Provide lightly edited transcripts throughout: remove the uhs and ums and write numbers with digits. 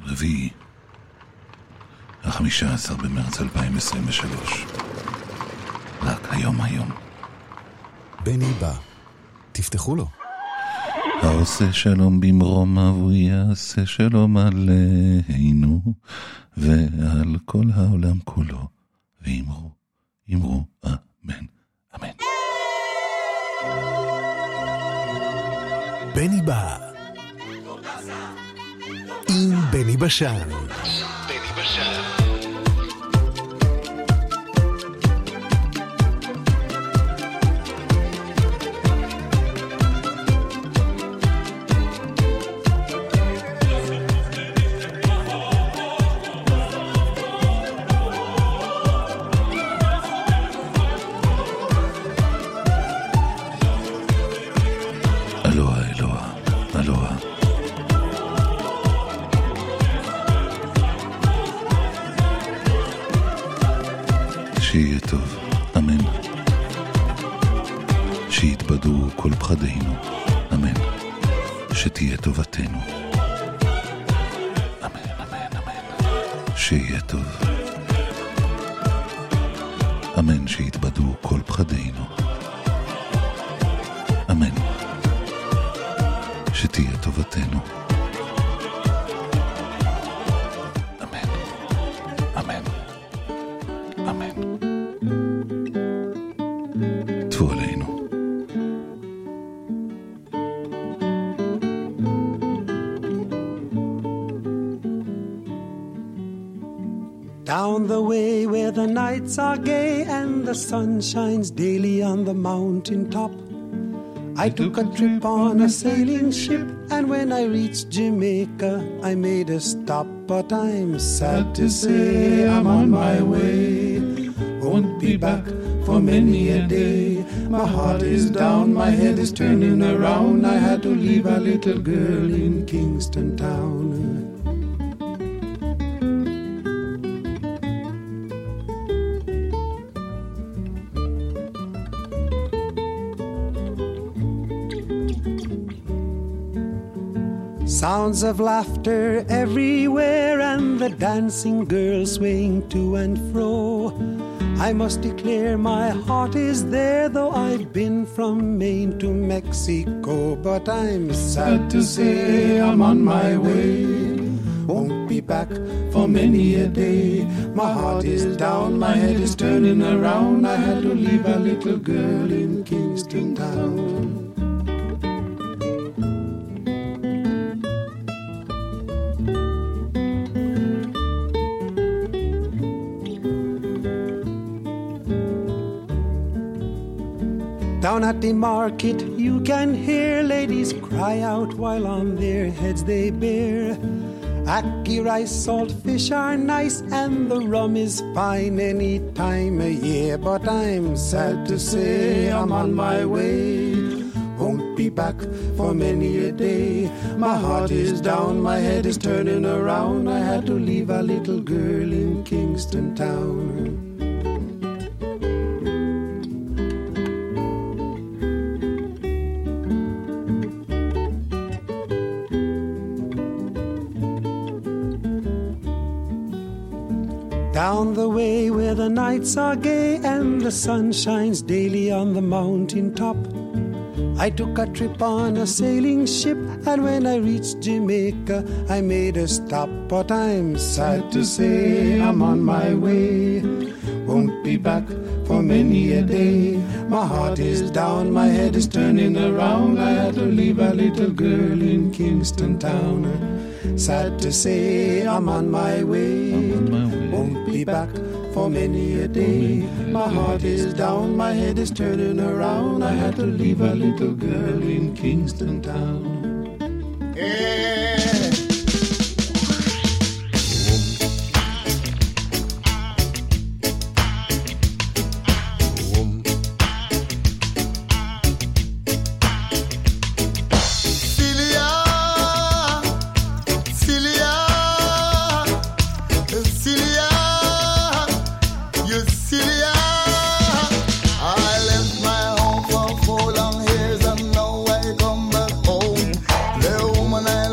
רביעי, 15 במרץ 2023. רק היום. בני בא, תפתחו לו. העושה שלום במרום אבו יעשה שלום עלינו ועל כל העולם כולו, ואמרו אמן, אמן. בני בא עם בני בשן. אלוהה. שיהיה טוב, אמן. שיתבדו כל פחדינו, אמן. שתהיה טובתנו, אמן. שיהיה טוב, אמן. שיתבדו כל פחדינו, אמן. שתהיה טובתנו, אמן. תבוא עלינו. Down the way where the nights are gay and the sun shines daily on the mountain top, I took a trip on a sailing ship, and when I reached Jamaica, I made a stop. But I'm sad to say I'm on my way, won't be back for many a day. My heart is down, my head is turning around. I had to leave a little girl in Kingston town. Sounds of laughter everywhere and the dancing girls swaying to and fro. I must declare my heart is there, though I've been from Maine to Mexico. But I'm sad to say I'm on my way, won't be back for many a day. My heart is down, my head is turning around. I had to leave a little girl in Kingston town. Down at the market you can hear ladies cry out while on their heads they bear. Ackee rice, salt fish are nice and the rum is fine any time of year. But I'm sad to say I'm on my way, won't be back for many a day. My heart is down, my head is turning around. I had to leave a little girl in Kingston town. Down the way where the nights are gay and the sun shines daily on the mountain top, I took a trip on a sailing ship, and when I reached Jamaica, I made a stop. But I'm sad to say I'm on my way, won't be back for many a day. My heart is down, my head is turning around. I had to leave a little girl in Kingston town. Sad to say I'm on my way, won't be back for many a day. My heart is down, my head is turning around. I had to leave a little girl in Kingston town. I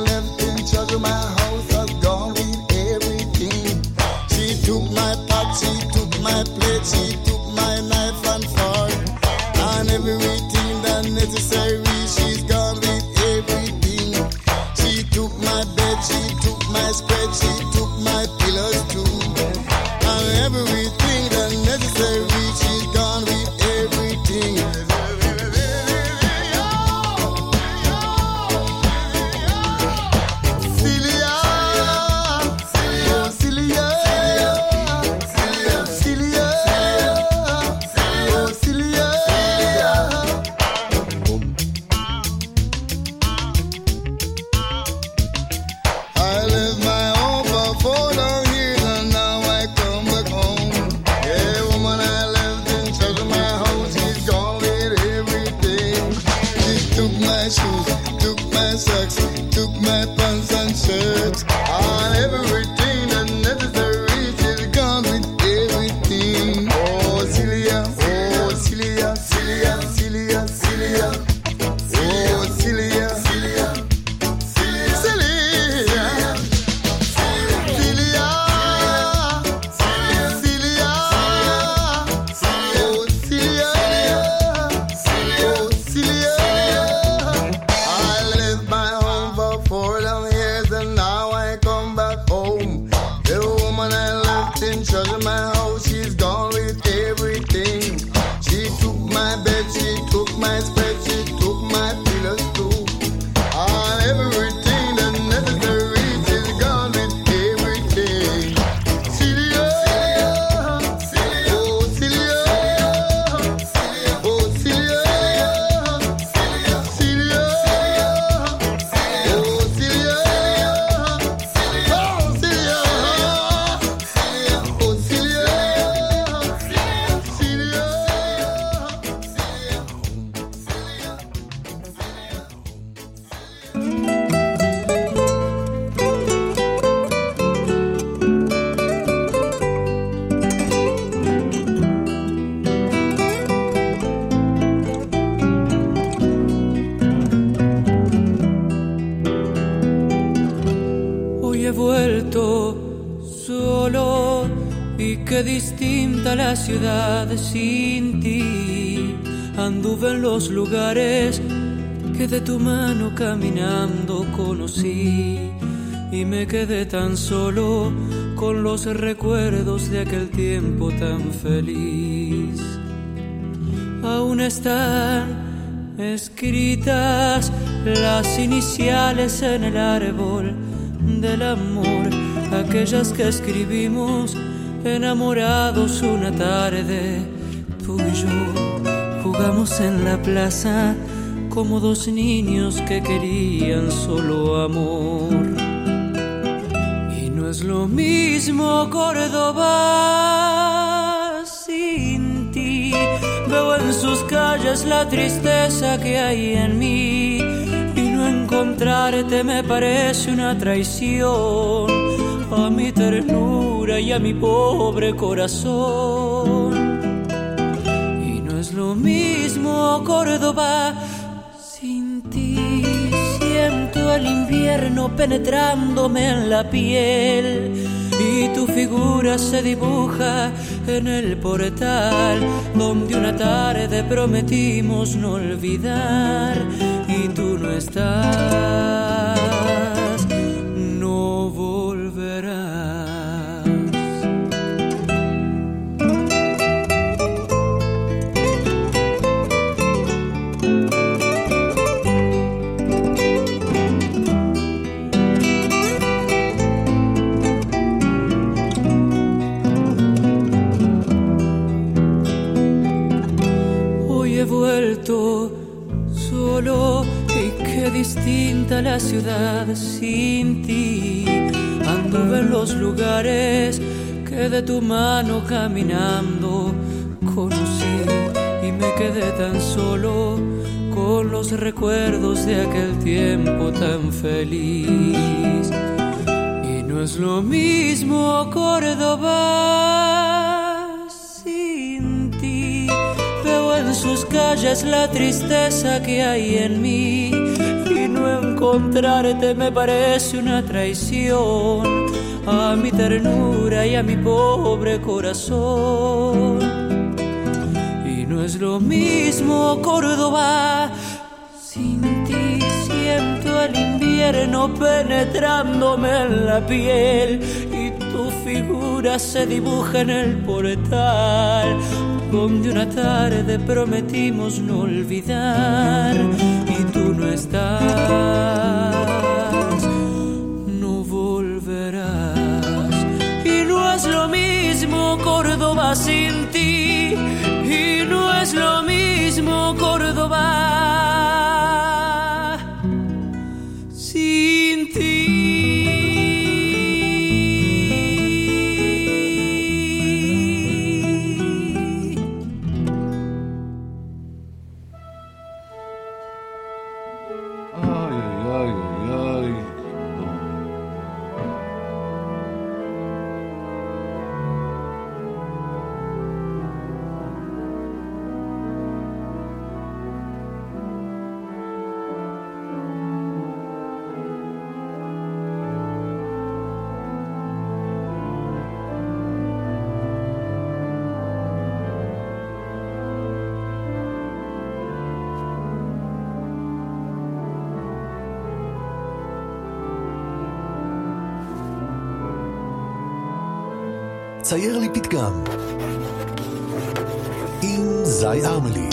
my bed, she took my spread, she took my pillows too. And everything that necessary, she's gone with everything. La ciudad sin ti, anduve en los lugares que de tu mano caminando conocí y me quedé tan solo con los recuerdos de aquel tiempo tan feliz. Aún están escritas las iniciales en el árbol del amor, aquellas que escribimos enamorados una tarde. Tú y yo jugamos en la plaza como dos niños que querían solo amor. Y no es lo mismo Córdoba sin ti. Veo en sus calles la tristeza que hay en mí, y no encontrarte me parece una traición a mi ternura y a mi pobre corazón. Y no es lo mismo Córdoba sin ti. Siento el invierno penetrándome en la piel y tu figura se dibuja en el portal donde una tarde prometimos no olvidar y tú no estás. No volverás. Hoy he vuelto solo y qué distinta la ciudad sin ti. Anduve en los lugares que de tu mano caminando conocí y me quedé tan solo con los recuerdos de aquel tiempo tan feliz. Y no es lo mismo Córdoba sin ti. Veo en sus calles la tristeza que hay en mí, y no encontrarte me parece una traición a mi ternura y a mi pobre corazón. Y no es lo mismo Córdoba sin ti. Siento el invierno infierno penetrándome en la piel y tu figura se dibuja en el portal donde una tarde prometimos no olvidar y tú no estás, no volverás y no es lo mismo Córdoba sin ti y no es lo mismo Córdoba sin ti. צייר לי פתגם עם זי ארמלי.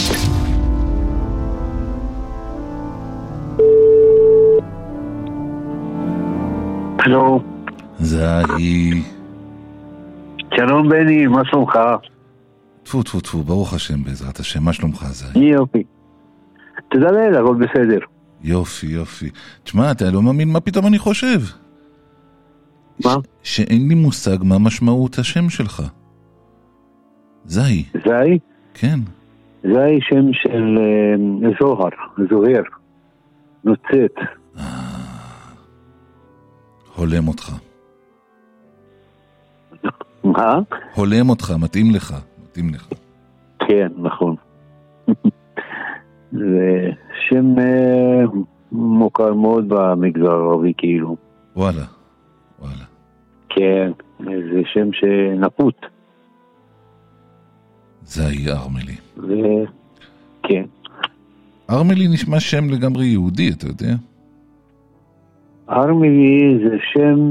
הלו. זי. שלום בני, מה שלומך? טפו טפו טפו, ברוך השם בעזרת השם, מה שלומך זי? יופי. תודה לאל, הכל בסדר. יופי יופי. תשמע, אתה לא מאמין מה פתאום אני חושב. מה? שאין לי מושג מה משמעות השם שלך. זי. זי? כן. זי שם של זוהר, זוהר, נוצאת. הולם אותך. מה? הולם אותך, מתאים לך. מתאים לך. כן, נכון. זה שם מוכר מאוד במגזר הערבי כאילו. וואלה. וואלה. כן, זה שם שנפוט. זי ארמלי. כן. ארמלי נשמע שם לגמרי יהודי, אתה יודע? ארמלי זה שם,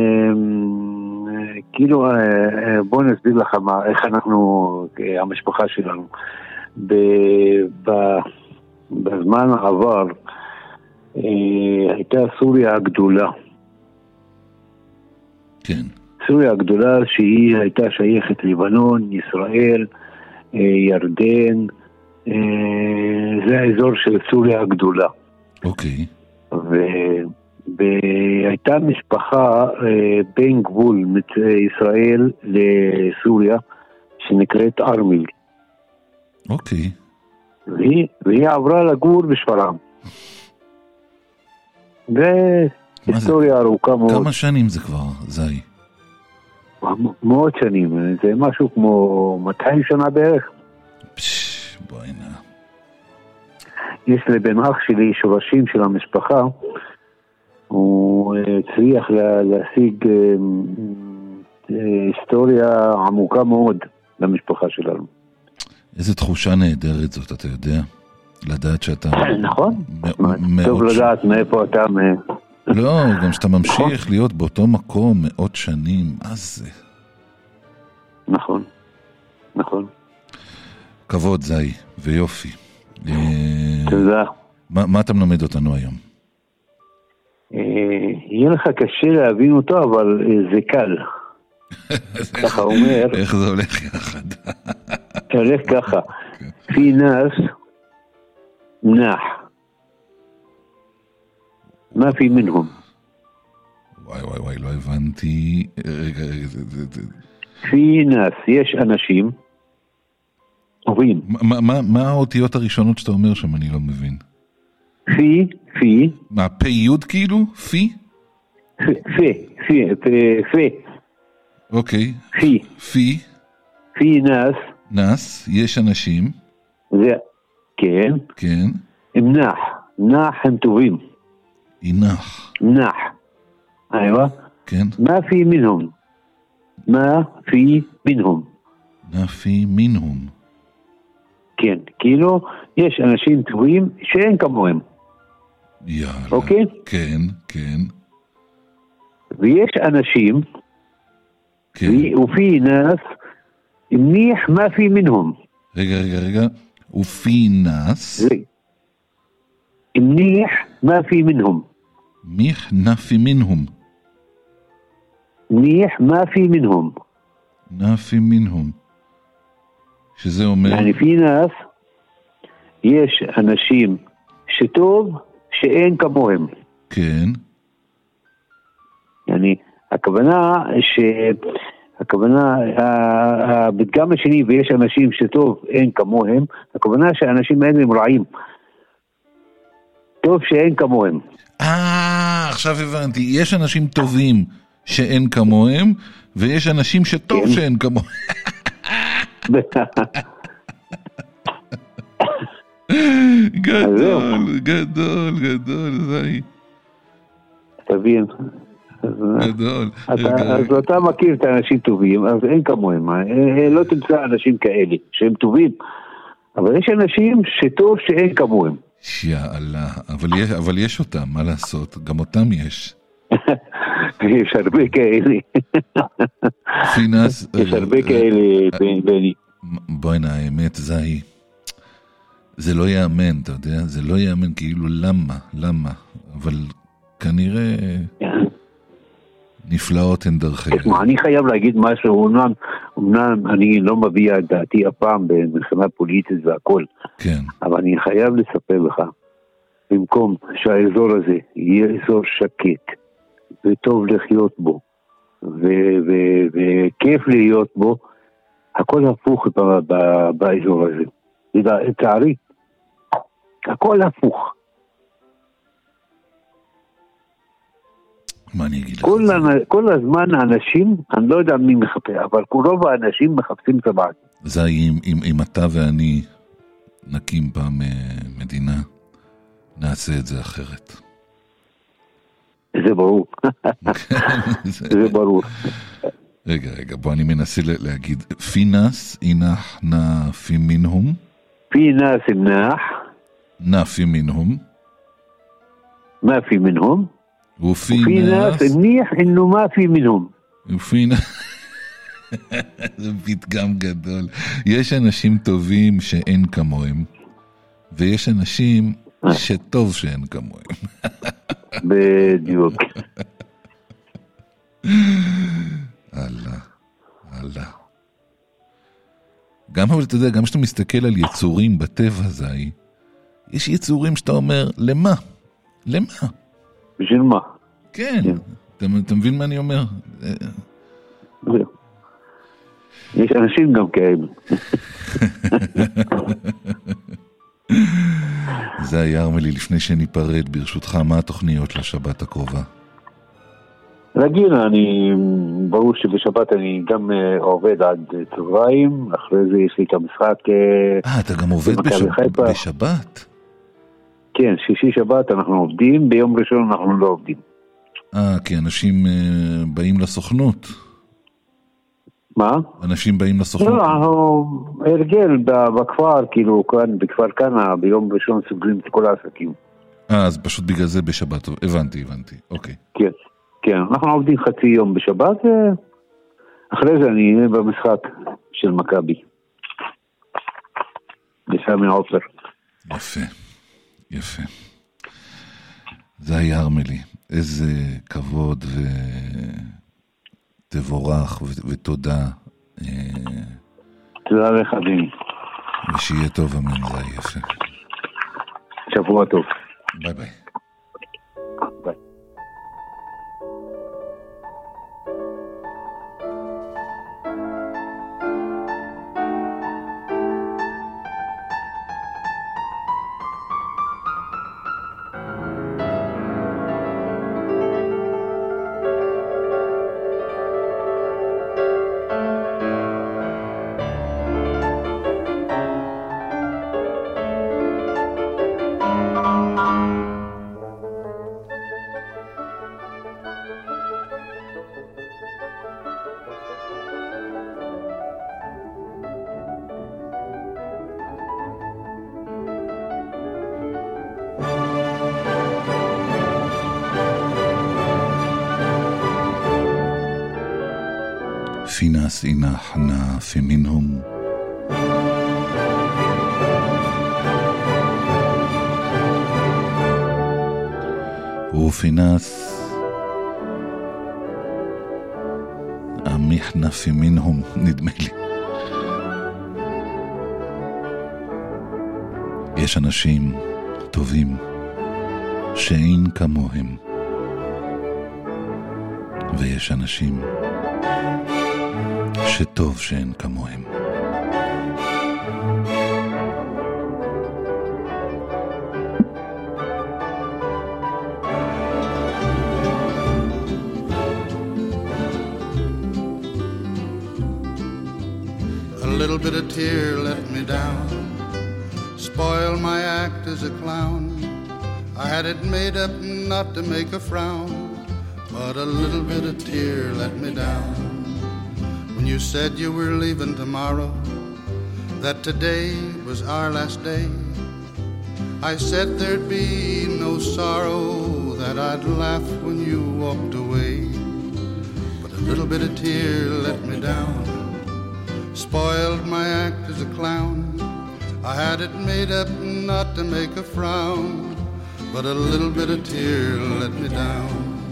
כאילו, בוא נסביר לך איך אנחנו, המשפחה שלנו. בזמן העבר הייתה סוריה הגדולה. כן. סוריה הגדולה שהיא הייתה שייכת לבנון, ישראל, ירדן, זה האזור של סוריה הגדולה. אוקיי. והייתה משפחה בין גבול ישראל לסוריה שנקראת ארמיל. אוקיי. והיא עברה לגור בשפרעם. והיסטוריה ארוכה מאוד. כמה שנים זה כבר, זי? מאוד שנים, זה משהו כמו 200 שנה בערך. בואי נע. יש לבן אח שלי שורשים של המשפחה, הוא הצליח להשיג היסטוריה עמוקה מאוד למשפחה שלנו. איזה תחושה נהדרת זאת, אתה יודע? לדעת שאתה... נכון. טוב לדעת מאיפה אתה... לא, גם שאתה ממשיך להיות באותו מקום מאות שנים, מה זה? נכון, נכון. כבוד זי, ויופי. תודה. מה אתה מלמד אותנו היום? יהיה לך קשה להבין אותו, אבל זה קל. ככה אומר... איך זה הולך יחד? הולך ככה. פי נאס נח. מה פי מנהום? וואי וואי וואי, לא הבנתי. רגע, פי נאס, יש אנשים טובים. מה האותיות הראשונות שאתה אומר שם? אני לא מבין. פי. מה, פי יוד כאילו? פי? פי. אוקיי. פי. פי נאס. נאס, יש אנשים. זה, כן. כן. הם נח הם טובים. נח. איווה. כן. מה פי מנהום? מה פי מנהום? כן, כאילו יש אנשים טובים שאין כמוהם. יאללה. אוקיי? כן, כן. ויש אנשים, כן. وفي ناس منيح ما في منهم. רגע. ופי נס. منيح ما في منهم. מיך נפי מנהום. منيح ما في منهم. נפי מנהום. שזה אומר... يعني في ناس, יש אנשים שטוב שאין כמוהם. כן. يعني הכוונה, הפתגם השני, ויש אנשים שטוב אין כמוהם, הכוונה שהאנשים האלה הם רעים. טוב שאין כמוהם. עכשיו הבנתי. יש אנשים טובים שאין כמוהם, ויש אנשים שטוב כן. שאין כמוהם. גדול, זי. תבין. גדול. אז אתה מכיר את האנשים טובים, אז אין כמוהם. לא תמצא אנשים כאלה שהם טובים, אבל יש אנשים שטוב שאין כמוהם. יאללה, אבל יש אותם, מה לעשות? גם אותם יש. יש הרבה כאלה. פינס... יש הרבה כאלה, בני. בואי נה, האמת, זי. זה לא יאמן, אתה יודע? זה לא יאמן, כאילו למה? אבל כנראה נפלאות הן דרכי. תשמע, אני חייב להגיד משהו, אמנם אני לא מביע את דעתי הפעם במלחמה פוליטית והכל, כן. אבל אני חייב לספר לך, במקום שהאזור הזה יהיה אזור שקט, וטוב לחיות בו, וכיף להיות בו, הכל הפוך באזור הזה. לצערי, הכל הפוך. מה אני אגיד לך? כל הזמן האנשים, אני לא יודע מי מחפש, אבל רוב האנשים מחפשים את הבעיה. זה אם אתה ואני נקים פעם מדינה, נעשה את זה אחרת. זה ברור. זה ברור. רגע, בוא אני מנסה להגיד, פינס אינח נפי מנהום? פינס אינח נפי מנהום? מה פי מנהום? وفي ناس منيح انه ما في منهم. זה פתגם גדול. יש אנשים טובים שאין כמוהם, ויש אנשים שטוב שאין כמוהם. בדיוק. אללה. גם אבל אתה יודע, גם כשאתה מסתכל על יצורים בטבע הזה, יש יצורים שאתה אומר, למה? בשביל מה? כן. אתה מבין מה אני אומר? יש אנשים גם כאלה. זה היה ארמלי, לפני שניפרד, ברשותך, מה התוכניות לשבת הקרובה? רגיל, ברור שבשבת אני גם עובד עד צהריים, אחרי זה יש לי את המשחק. אתה גם עובד בשבת? כן, שישי שבת אנחנו עובדים, ביום ראשון אנחנו לא עובדים. כי אנשים באים לסוכנות. מה? אנשים באים לסוכנות. לא, הרגל בכפר, כאילו כאן, בכפר כנה, ביום ראשון סוגרים את כל העסקים. אז פשוט בגלל זה בשבת, הבנתי, אוקיי. כן, אנחנו עובדים חצי יום בשבת, אחרי זה אני אהיה במשחק של מכבי. בסמי עופר. יפה. זה היה ארמלי. איזה כבוד ותבורך ותודה. תודה לך, דין. ושיהיה טוב, אמן, זה היה יפה. שבוע טוב. ביי ביי. ביי. في ناس إنحنا في منهم وفي ناس עמיחנה في منهم, נדמה לי. יש אנשים טובים שאין כמוהם, ויש אנשים שטוב שאין כמוהם. A little bit of tear let me down, spoiled my act as a clown. I had it made up not to make a frown, but a little bit of tear let me down. When you said you were leaving tomorrow, that today was our last day, I said there'd be no sorrow, that I'd laugh when you walked away. But a little bit of tear let me down, spoiled my act as a clown. I had it made up not to make a frown, but a little bit of tear let me down.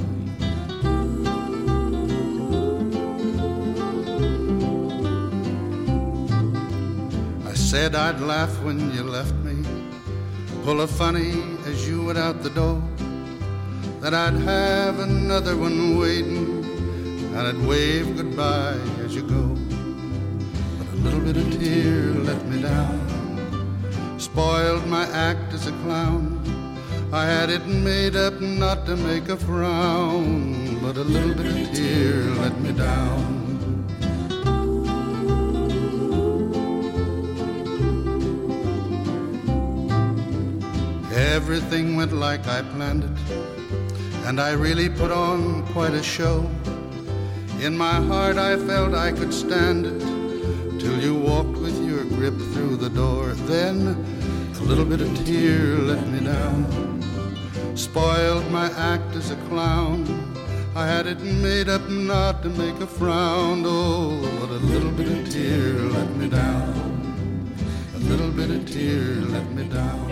I said I'd laugh when you left me, pull a funny as you went out the door, that I'd have another one waiting, and I'd wave goodbye as you go. A little bit of tear let me down, spoiled my act as a clown. I had it made up not to make a frown, but a little bit of tear let me down. Everything went like I planned it, and I really put on quite a show. In my heart I felt I could stand it, till you walked with your grip through the door. Then a little bit of tear let me down, spoiled my act as a clown. I had it made up not to make a frown. Oh, but a little bit of tear let me down, a little bit of tear let me down.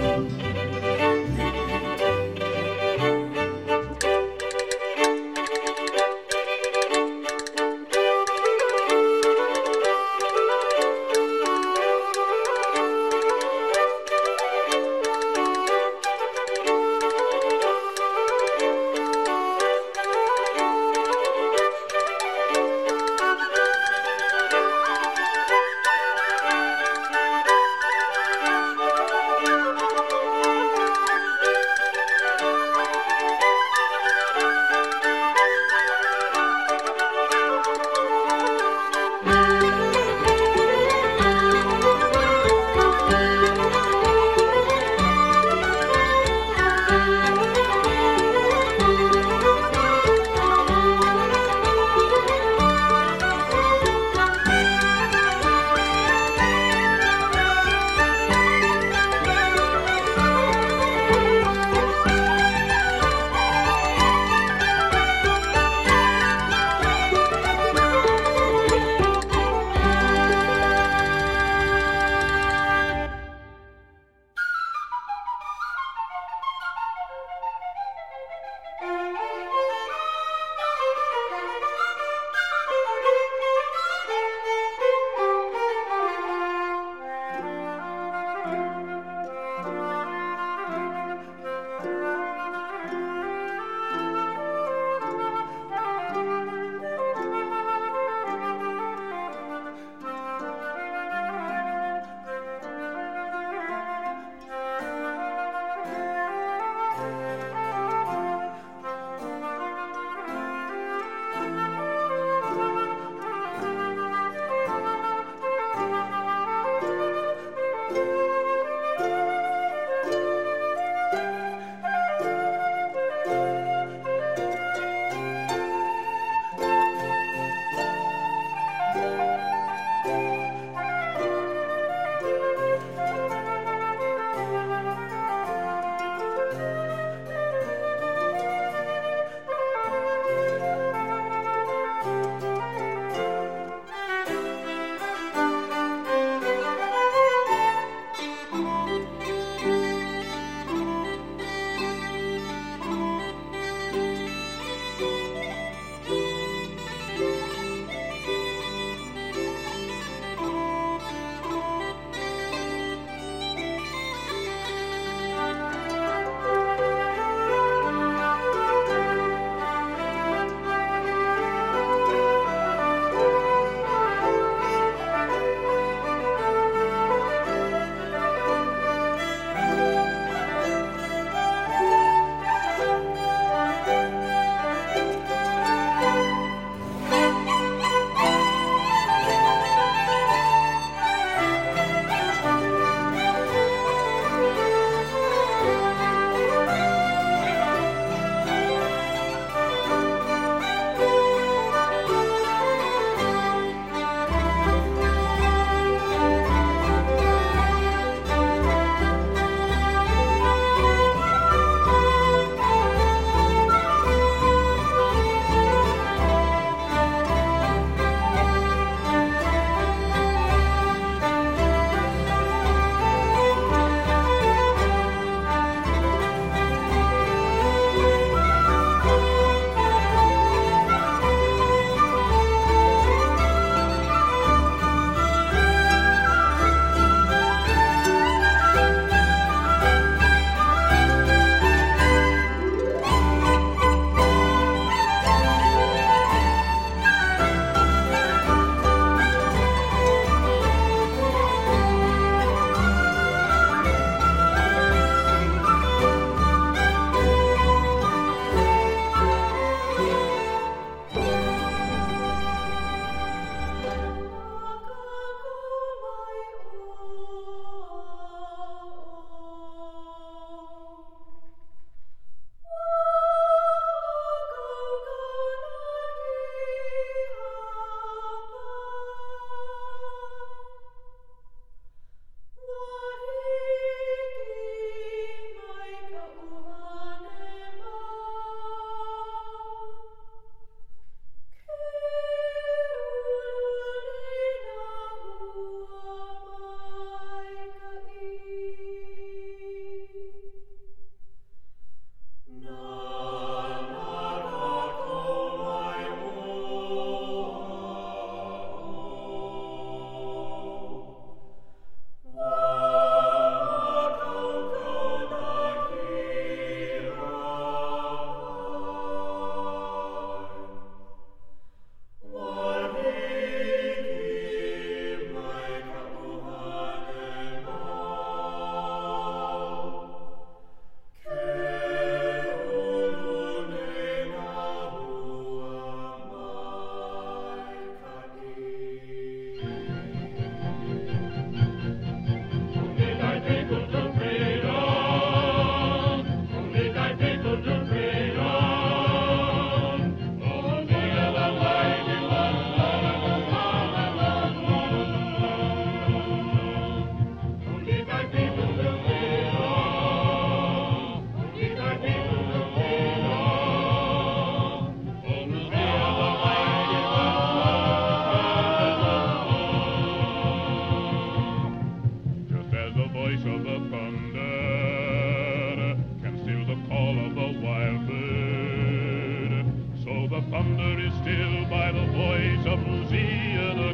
still by the voice of Lucia the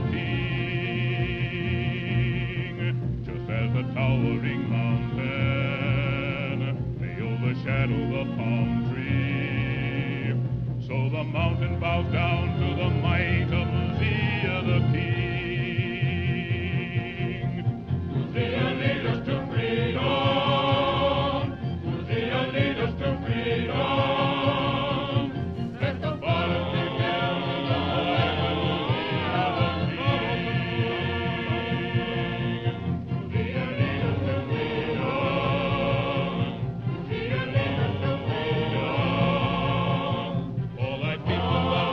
king, just as the towering mountain may overshadow the palm tree, so the mountain bows down to the might of Lucia the king. Lucia, lead us to freedom. Lucia, lead us to freedom. Let the bottom begin in the land of Lucia the king. Lucia, lead us to freedom. Lucia, lead us to freedom. For thy people are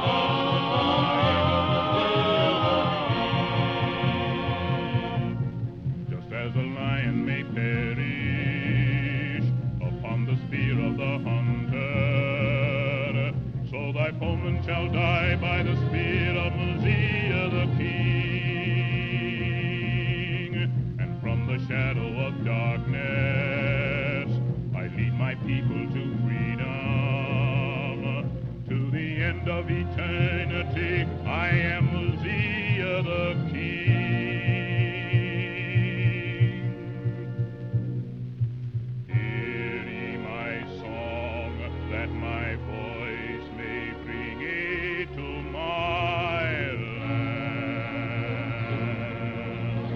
just as a lion may perish upon the spear of the hunter, so thy foeman shall die by the spear of Lucia the king. And from the shadow of darkness I lead my people to freedom. To the end of eternity I am Lucia the king. Hear ye my song, that my voice may bring it to my land.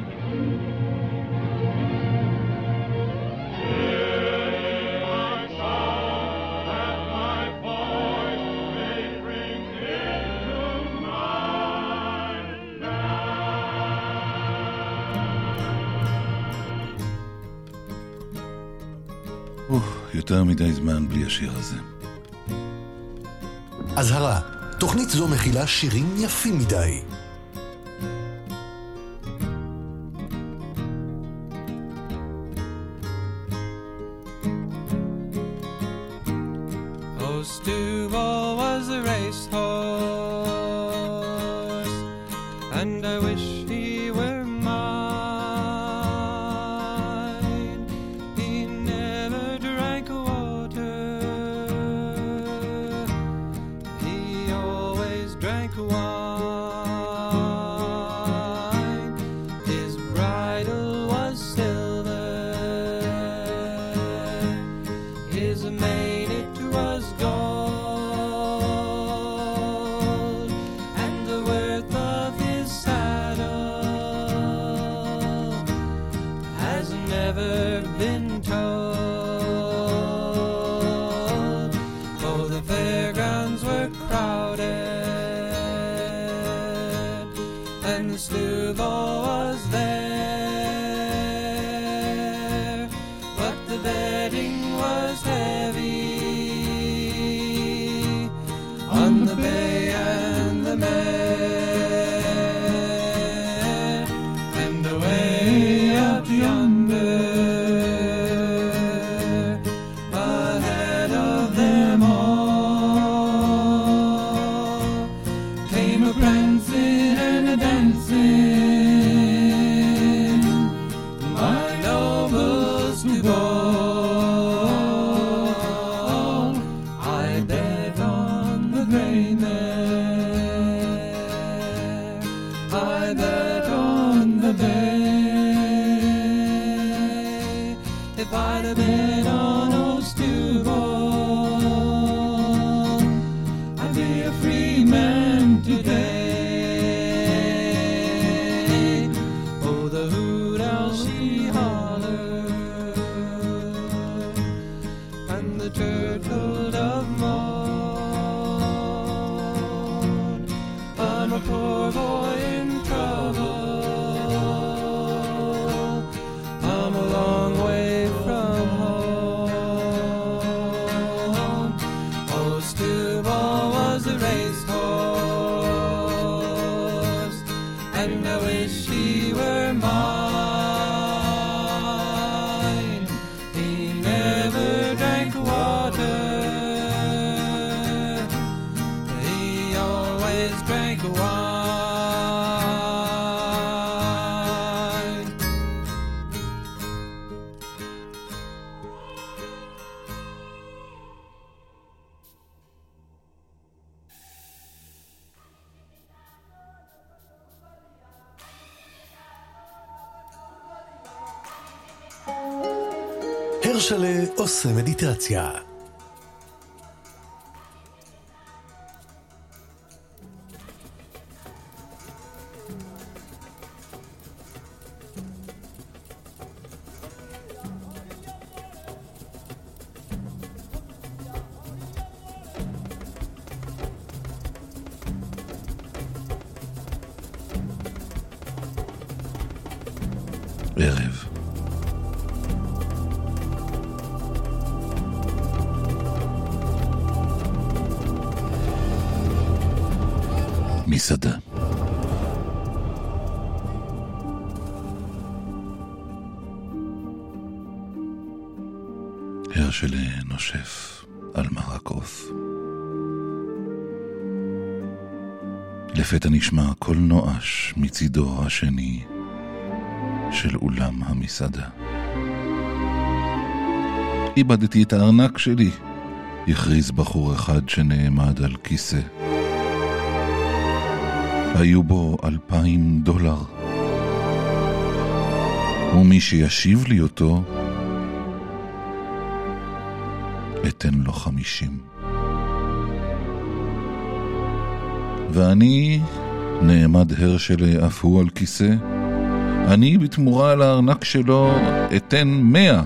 Hear ye my song, that my voice may bring it to my land. יותר מדי זמן בלי השיר הזה. אזהרה, תוכנית זו מכילה שירים יפים מדי. Oh, Stubble was a racehorse, and I wish he were mine. He never drank water, he always drank wine. His bridle was silver, his mane it was gold, and the worth of his saddle has never been told. Oh, the fairgrounds were crowded, and the Stubble was there, but the betting was heavy on the bay and the mare, and away up yonder, ahead of them all, came a prancing and a dancing, my noble Stubble. I bet on the gray mare, I bet on the bay. If I'd have bet on old Stubble, I'd be a free man today. Oh, the hoot owl she hollered, and the turtle dove moaned. I'm a poor boy in trouble, I'm a long way from home. Oh, Stubble was a racehorse, and I wish he were mine. He never drank water, he always drank wine. הרשלה עושה מדיטציה. ערב. מסעדה. הרשל נושף על מרק עוף. לפתע נשמע קול נואש מצידו השני של אולם המסעדה. איבדתי את הארנק שלי, הכריז בחור אחד שנעמד על כיסא. היו בו $2,000, ומי שישיב לי אותו אתן לו 50. ואני נעמד הרשל אף הוא על כיסא. אני בתמורה על הארנק שלו אתן 100.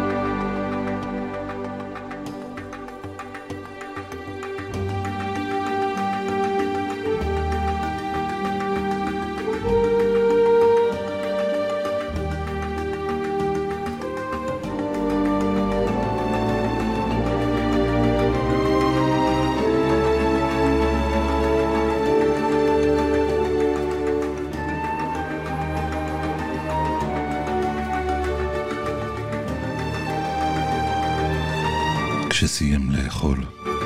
כשסיים לאכול,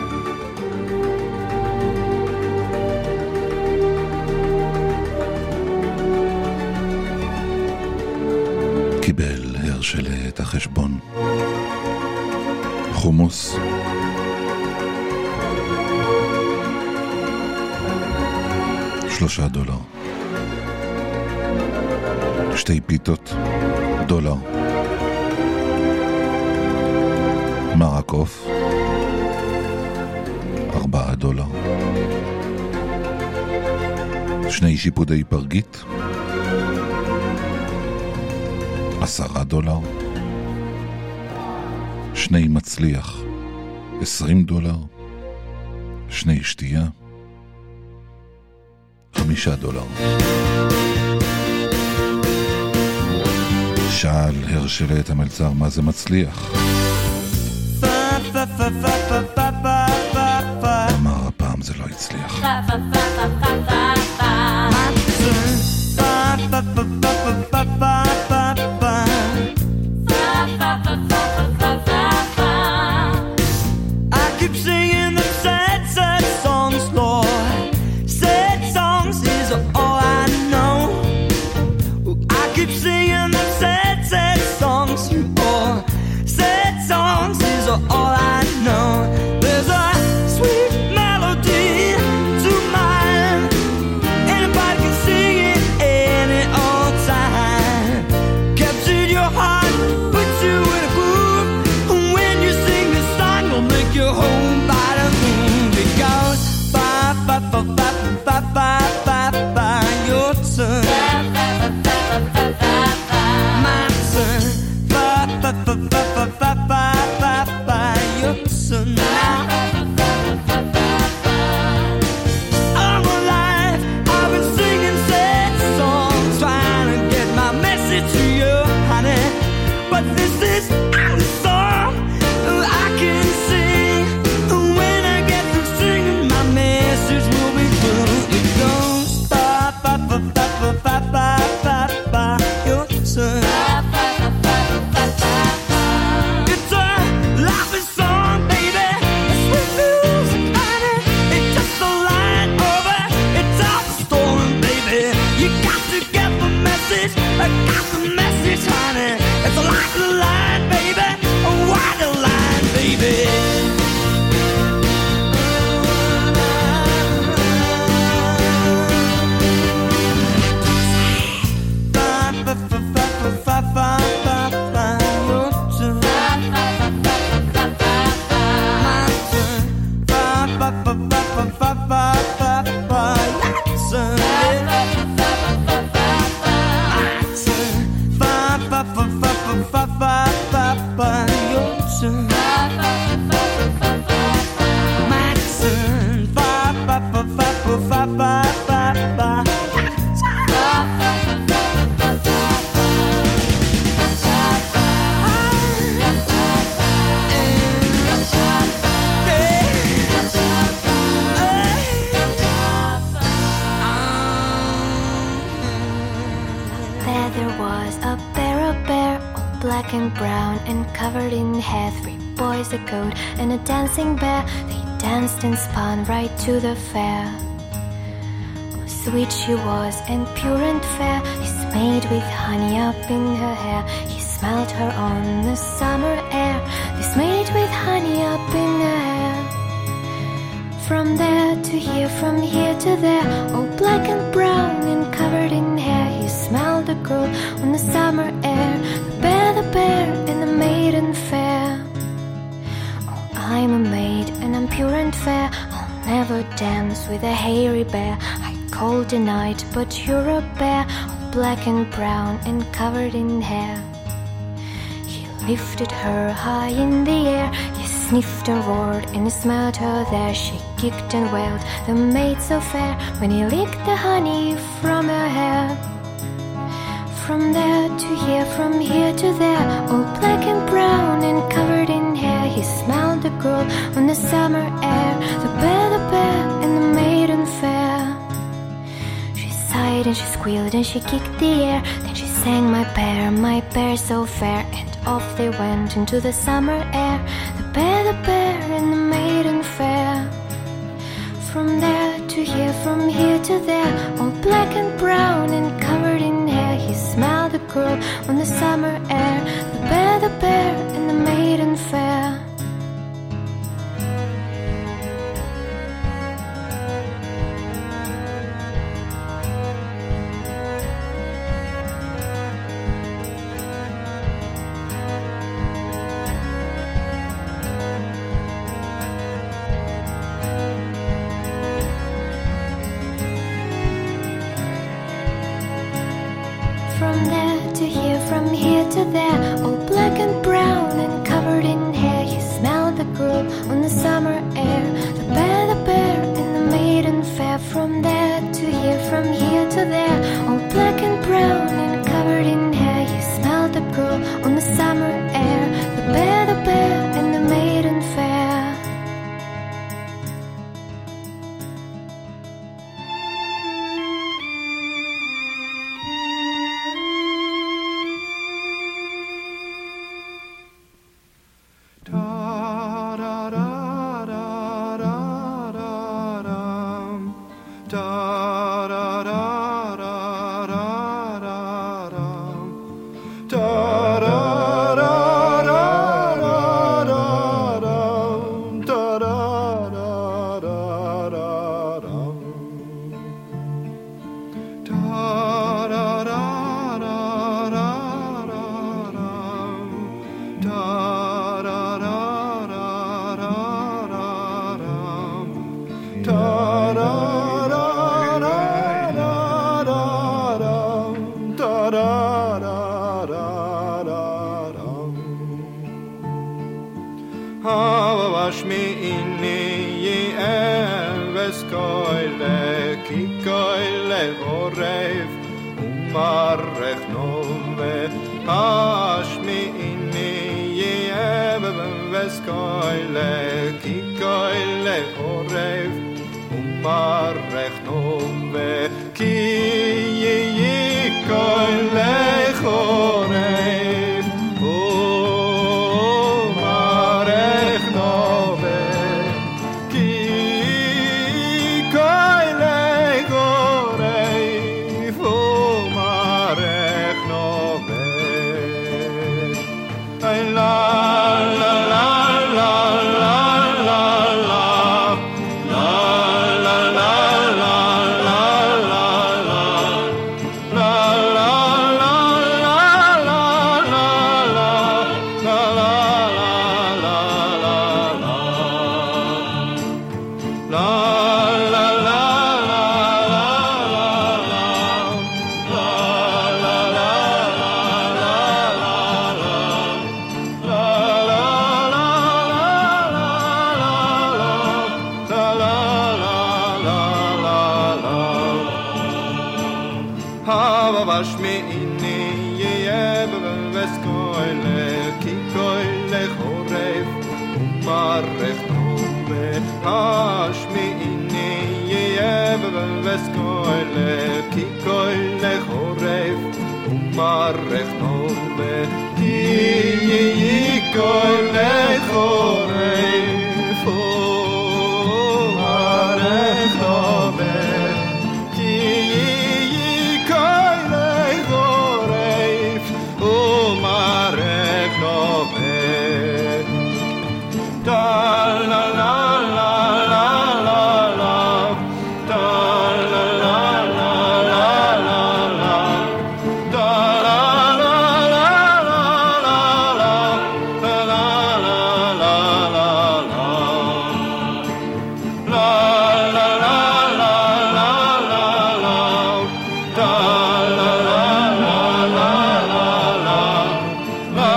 קיבל הרשל את החשבון. חומוס, $3. 2 פיתות, $1. מרק עוף, $4. 2 שיפודי פרגית, $10. 2 מצליח, $20. 2 שתייה, $5. שאל הרשל את המלצר מה זה מצליח. אמר הפעם זה לא הצליח. I keep singing the sad, sad songs, Lord. Sad songs is all I know. I keep singing the sad, sad songs, you all. Sad songs is all I know. There's a sweet melody to my There was a bear, all black and brown and covered in hair. 3 boys, a goat, and a dancing bear. They danced and spun right to the fair. Oh, sweet she was and pure and fair. He smelled with honey up in her hair. He smelled her on the summer air. They smelled with honey up in her hair. From there to here, from here to there, all black and brown and covered in hair. He smelled the girl on the summer air. The bear, and the maiden fair. Oh, I'm a maid and I'm pure and fair. I'll never dance with a hairy bear. I called the night, but you're a bear, all black and brown and covered in hair. He lifted her high in the air. He sniffed and roared and he smelled her there. She kicked and wailed, the maid so fair, when he licked the honey from her hair. From there to here, from here to there, all black and brown and covered in hair. He smelled the girl on the summer air. The bear, and the maiden fair. She sighed and she squealed and she kicked the air. Then she sang, my bear so fair. And off they went into the summer air. The bear, and the maiden fair. From there to here, from here to there, all black and brown and covered in hair. He smelled the girl on the summer air. The bear, and the maiden fair. From there to here, from here to there, all black and brown and covered in hair. He smelled the girl on the summer air. The bear, and the maiden fair. From there to here, from here to there, all black and brown and covered in hair. He smelled the girl on the summer air. The bear, and the maiden fair. marech nove ki kol lechorei fo marech nove ki kol lechorei fo marech nove da la la la la la la da la la la la la la da la la la la la la da la la la la la la la la la la la la da la la la la la la la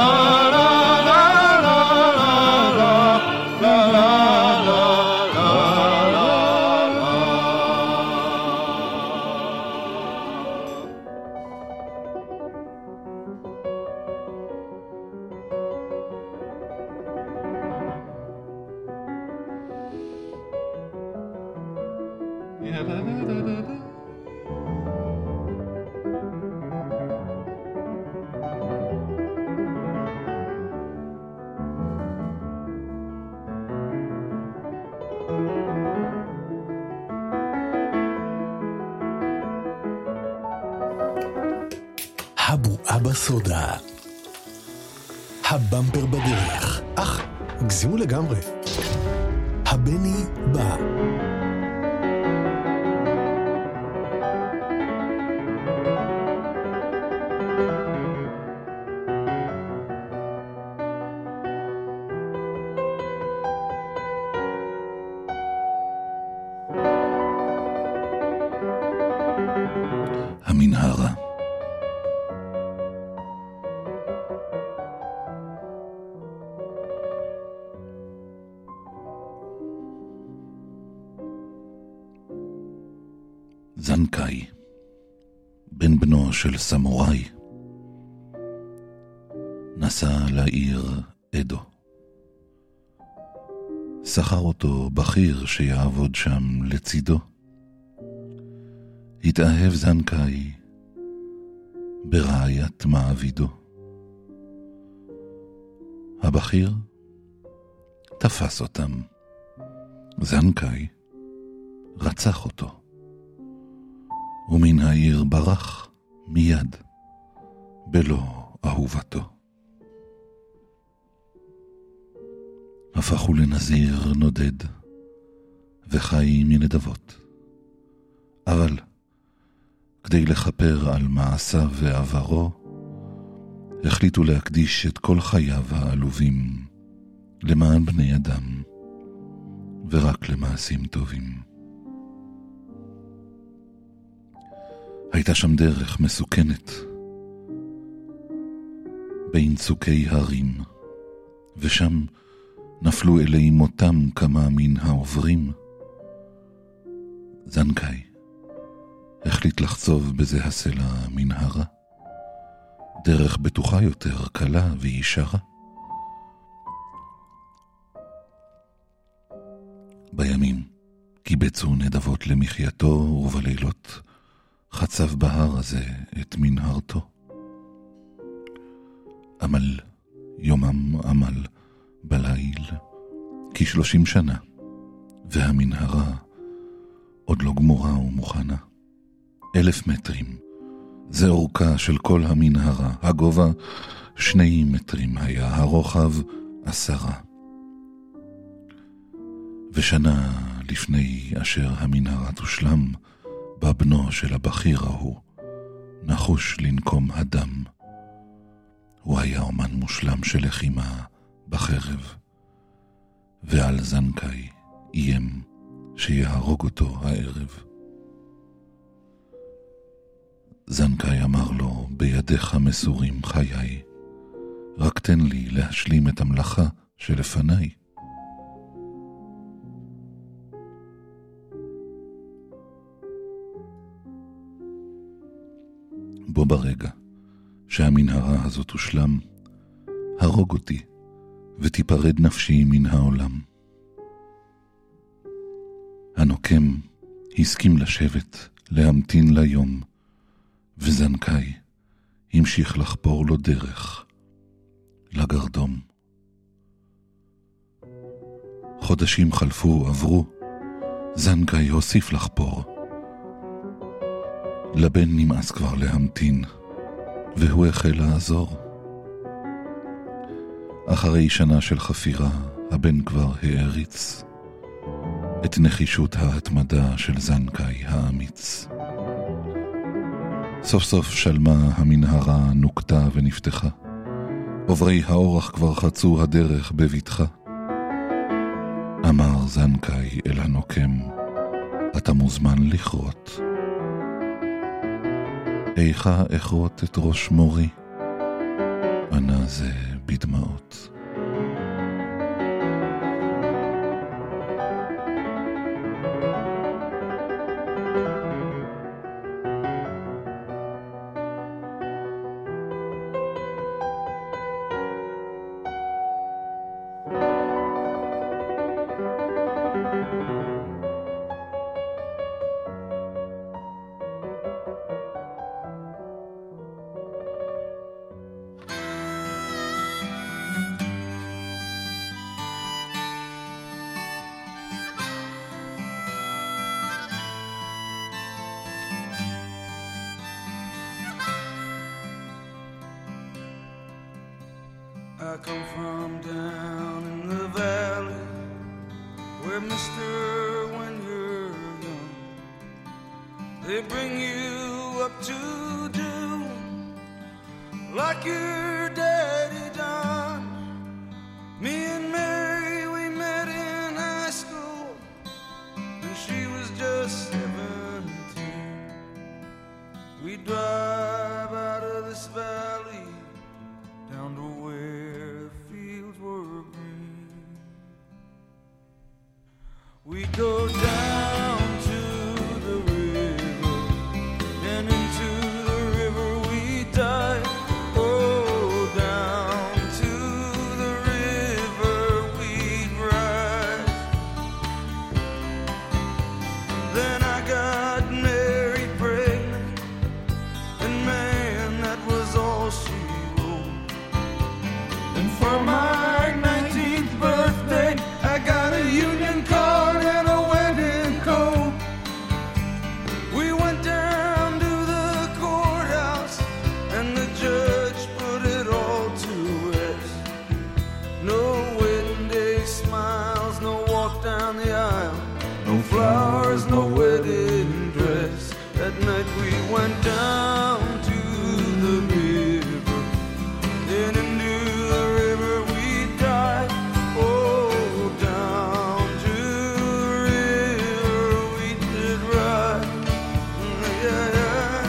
הבועה בסודה. הבמפר בדרך. הגזימו לגמרי. הבני בא. המנהרה. זנקאי, בן בנו של סמוראי, נסע לעיר אדו. שכר אותו בכיר שיעבוד שם לצידו. התאהב זנקאי ברעיית מעבידו. הבכיר תפס אותם. זנקאי רצח אותו. ומן העיר ברח מיד בלא אהובתו. הפכו לנזיר נודד וחי מנדבות. אבל כדי לכפר על מעשיו ועברו, החליטו להקדיש את כל חייו העלובים למען בני אדם ורק למעשים טובים. הייתה שם דרך מסוכנת בין צוקי הרים, ושם נפלו אלי מותם כמה מן העוברים. זנקאי החליט לחצוב בזה הסלע מנהרה, דרך בטוחה יותר, קלה וישרה. בימים קיבצו נדבות למחייתו, ובלילות חצב בהר הזה את מנהרתו. עמל יומם עמל בליל כ30 שנה, והמנהרה עוד לא גמורה ומוכנה. 1,000 מטרים, זה אורכה של כל המנהרה. הגובה 2 מטרים היה, הרוחב 10. ושנה לפני אשר המנהרה תושלם, בא בנו של הבכיר ההוא, נחוש לנקום הדם. הוא היה אומן מושלם של לחימה בחרב, ועל זנקאי איים שיהרוג אותו הערב. זנקאי אמר לו, בידיך מסורים חיי, רק תן לי להשלים את המלאכה שלפניי. בו ברגע שהמנהרה הזאת הושלם, הרוג אותי ותיפרד נפשי מן העולם. הנוקם הסכים לשבת, להמתין ליום, וזנקאי המשיך לחפור לו דרך לגרדום. חודשים חלפו, עברו, זנקאי הוסיף לחפור. לבן נמאס כבר להמתין, והוא החל לעזור. אחרי שנה של חפירה, הבן כבר העריץ את נחישות ההתמדה של זנקאי האמיץ. סוף סוף שלמה המנהרה, נוקתה ונפתחה. עוברי האורח כבר חצו הדרך בביטחה. אמר זנקאי אל הנוקם, אתה מוזמן לכרות. איכה אכרות את ראש מורי? ענה זה בדמעות. I come from down in the valley, where mister, when you're young, they bring you up to do like your daddy done. Me and Mary, we met in high school, and she was just 17. We drive out of this valley down to where fields were green. We go down to the river, and into the river we dive. Oh, down to the river we ride. Then I got Mary pregnant, and man, that was all she wrote. And for my 19th birthday, I got a union card and a wedding coat. We went down to the courthouse, and the judge put it all to rest. No wedding day smiles, no walk down the aisle, no flowers, no wedding dress. That night we went down to the river, then into the river we dive. Oh, down to the river we did ride. Yeah, yeah.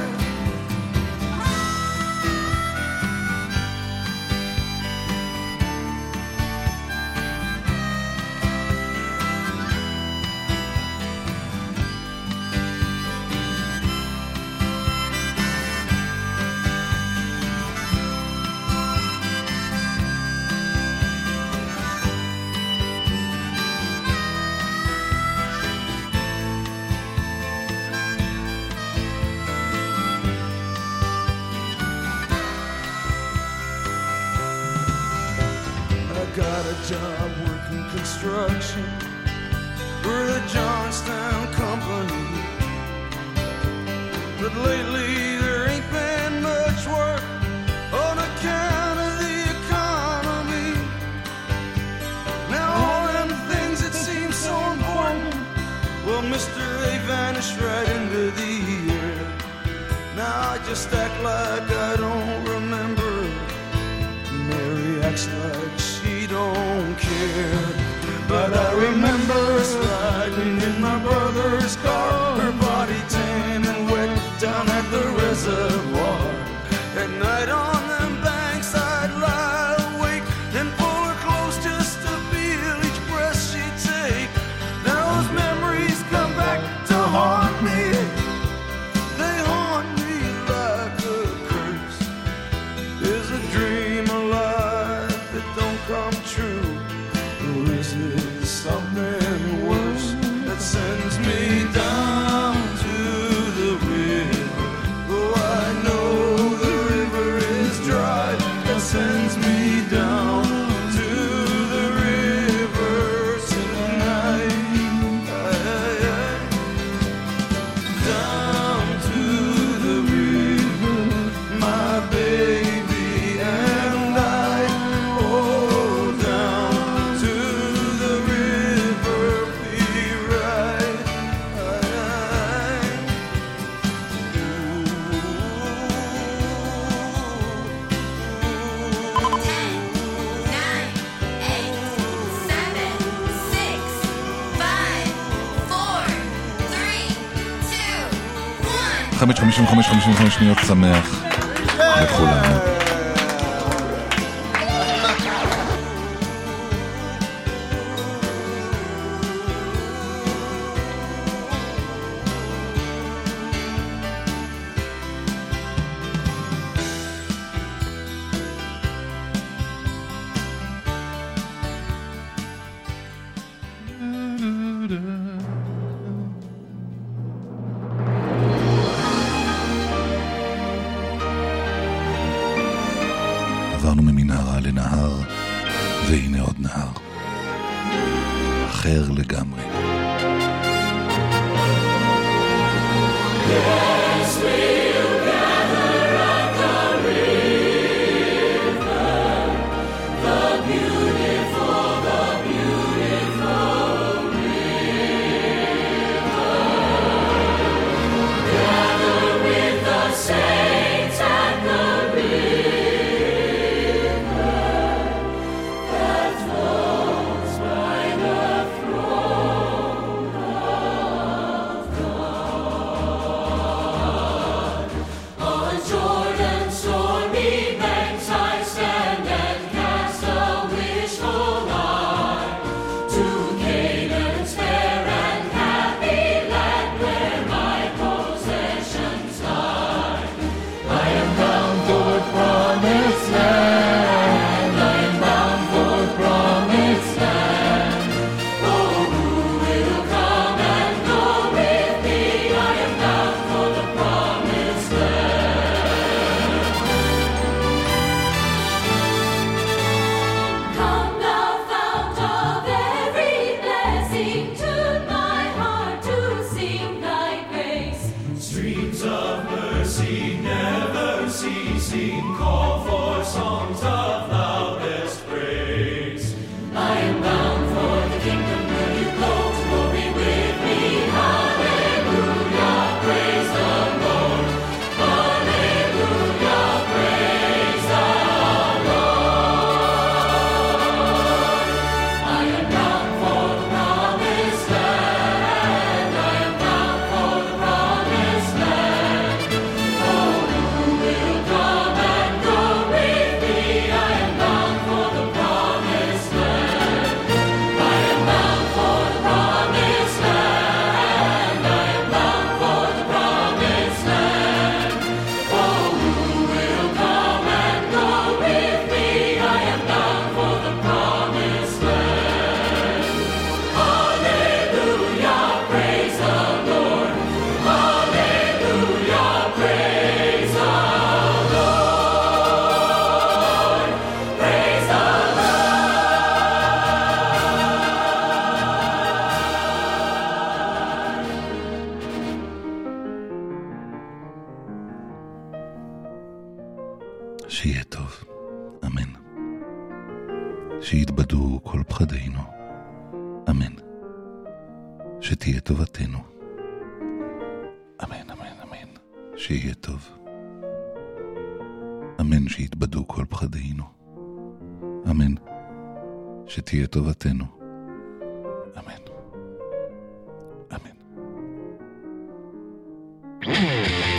I got a job working construction for the Johnstown Company, but lately there ain't been much work on account of the economy. Now all them things that seem so important, well, mister, they vanished right into the air. Now I just act like I don't remember. Mary acts like she don't care. But I remember us riding in my brother's car, her body tan and wet down at the reservoir. At night on them banks I'd lie awake and pull her close just to feel each breath she'd take. Now those memories come back to haunt me. They haunt me like a curse. Is a dream alive that don't come true? Or is it something worse that sends me down? down to the river, my baby and I. Oh, down to the river we ride. חמש 55 שניות שמח לכולנו. עברנו ממנהרה לנהר, והנה עוד נהר. אחר לגמרי. Yes, we'll gather at the river, the beautiful river. Gather with the saints at the river that flows by the throne of God. On Jordan's stormy banks I stand and cast a wishful eye to Canaan's fair and happy land where my possessions lie. I am bound for promised land. I am bound for promised land. Oh, who will come and go with me? I am bound for the promised land. Come thou fount of every blessing, tune my heart to sing thy grace. Streams of mercy never ceasing, call for songs of loudest praise. I am bound for the kingdom, will you go to glory with me? Hallelujah, praise the Lord. Hallelujah, praise the Lord. I am bound for the promised land. I am bound for the promised land. Oh, who will come and go with me? I am bound for the promised land. I am bound for the promised land. I am bound for the promised land. Oh, who will come and go with me? I am bound for the promised land. Hallelujah, praise the Lord. Hallelujah, praise the Lord. Praise the שיהיה טוב, אמן. שיתבדו כל פחדינו, אמן. שתהיה טובתנו, אמן, אמן, אמן. שיהיה טוב, אמן. שיתבדו כל פחדינו, אמן. שתהיה טובתנו, אמן, אמן.